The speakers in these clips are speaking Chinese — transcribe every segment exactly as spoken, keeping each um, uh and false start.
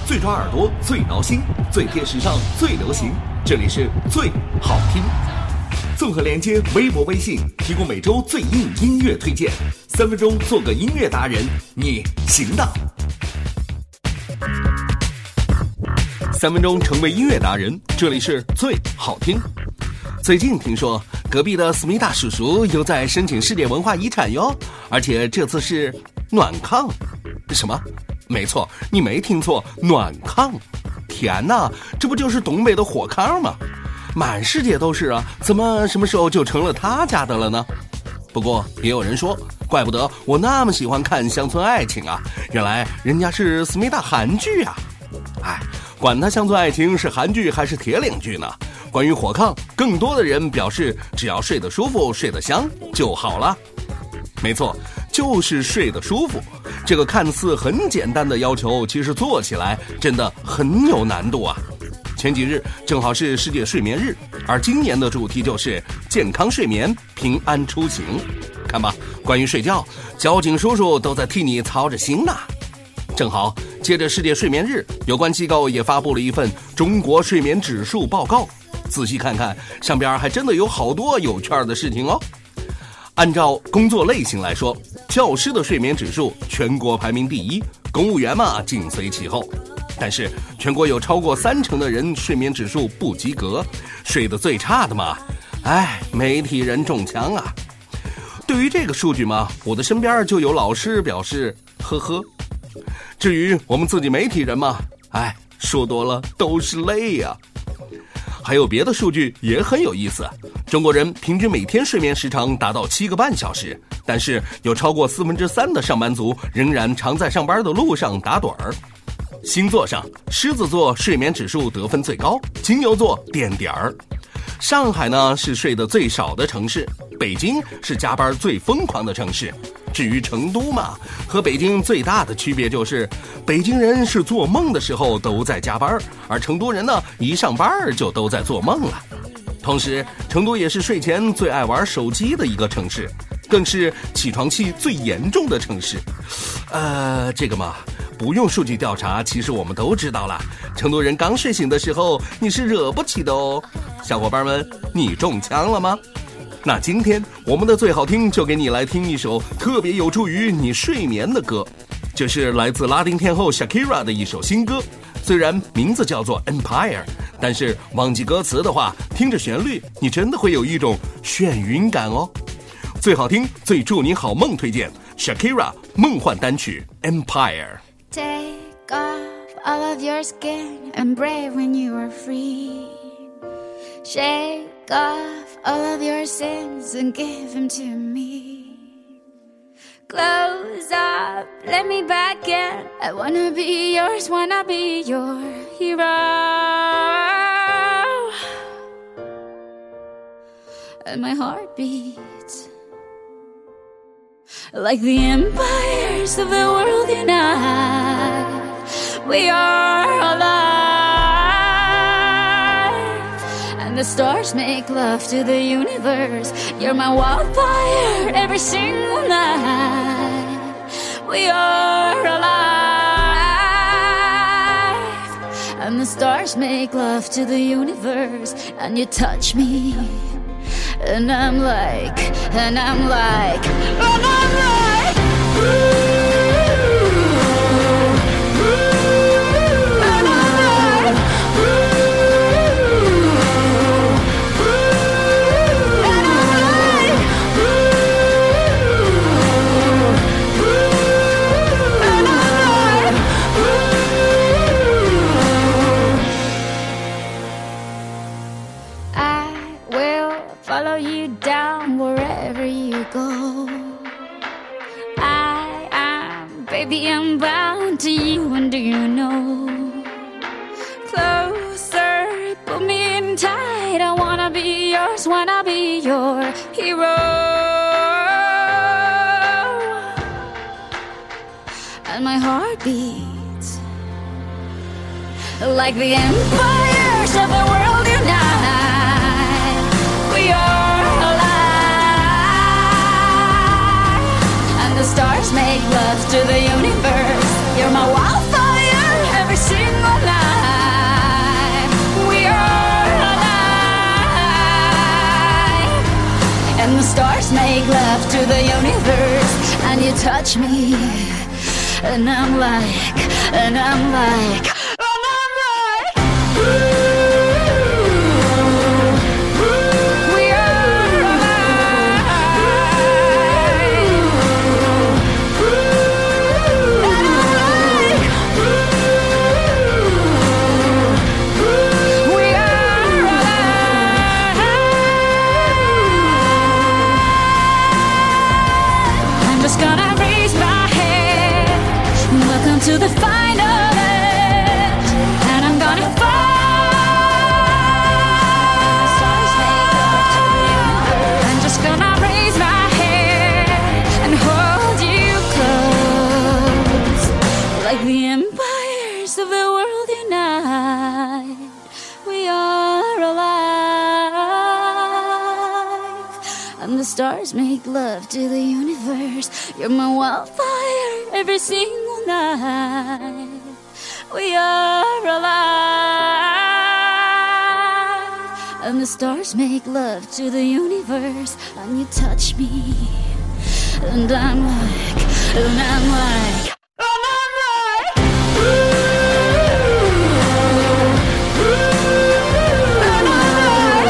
最抓耳朵，最挠心，最贴时尚，最流行，这里是最好听。综合连接微博、微信，提供每周最硬音乐推荐，三分钟做个音乐达人，你行的。三分钟成为音乐达人，这里是最好听。最近听说隔壁的思密达叔叔又在申请世界文化遗产哟，而且这次是暖炕。什么？没错，你没听错，暖炕。天哪，这不就是东北的火炕吗？满世界都是啊，怎么什么时候就成了他家的了呢？不过也有人说，怪不得我那么喜欢看乡村爱情啊，原来人家是思密达韩剧啊。哎，管他乡村爱情是韩剧还是铁岭剧呢，关于火炕，更多的人表示只要睡得舒服睡得香就好了。没错，就是睡得舒服。这个看似很简单的要求，其实做起来真的很有难度啊。前几日正好是世界睡眠日，而今年的主题就是健康睡眠，平安出行。看吧，关于睡觉，交警叔叔都在替你操着心呢。正好接着世界睡眠日，有关机构也发布了一份中国睡眠指数报告，仔细看看，上边还真的有好多有趣的事情哦。按照工作类型来说，教师的睡眠指数全国排名第一，公务员嘛紧随其后。但是全国有超过三成的人睡眠指数不及格，睡得最差的嘛，哎，媒体人中枪啊。对于这个数据嘛，我的身边就有老师表示呵呵。至于我们自己媒体人嘛，哎，说多了都是泪呀、啊。还有别的数据也很有意思，中国人平均每天睡眠时长达到七个半小时，但是有超过四分之三的上班族仍然常在上班的路上打盹儿。星座上，狮子座睡眠指数得分最高，金牛座垫点儿。上海呢是睡得最少的城市，北京是加班最疯狂的城市。至于成都嘛，和北京最大的区别就是，北京人是做梦的时候都在加班，而成都人呢一上班就都在做梦了。同时，成都也是睡前最爱玩手机的一个城市，更是起床气最严重的城市。呃，这个嘛，不用数据调查，其实我们都知道了，成都人刚睡醒的时候你是惹不起的哦。小伙伴们，你中枪了吗？那今天我们的最好听就给你来听一首特别有助于你睡眠的歌，这是来自拉丁天后 Shakira 的一首新歌，虽然名字叫做 Empire， 但是忘记歌词的话，听着旋律你真的会有一种眩晕感哦。最好听最祝你好梦推荐 Shakira 梦幻单曲 Empire。 Take off all of your skin and brave when you are free. Shake off all of your sins and give them to me. Close up, let me back in. I wanna be yours, wanna be your hero. And my heart beats like the empires of the world unite. We are alive.The stars make love to the universe. You're my wildfire every single night. We are alive. And the stars make love to the universe. And you touch me. And I'm like, and I'm like, and I'm like, ooh.Follow you down wherever you go. I am, baby, I'm bound to you, and do you know? Closer, put me in tight. I wanna be yours, wanna be your hero. And my heart beats like the empires of the world unite.We are alive. And the stars make love to the universe. You're my wildfire every single love to the universe, and you touch me, and I'm like, and I'm like, and I'm like, we are alive, and I'm like, we are alive. I'm just gonna raise my head. Welcome to the final edge, and I'm gonna fly. I'm just gonna raise my head and hold you close, like the empires of the world unite. We are alive, and the stars make love to the universe. You're my wildfire every single night. We are alive, and the stars make love to the universe, and you touch me, and I'm like, and I'm like, and I'm like, and I'm like,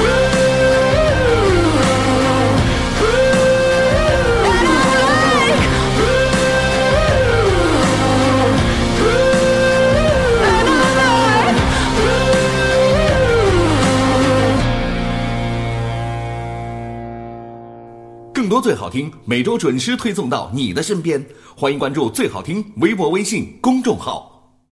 更多最好听每周准时推送到你的身边，欢迎关注最好听微博微信公众号。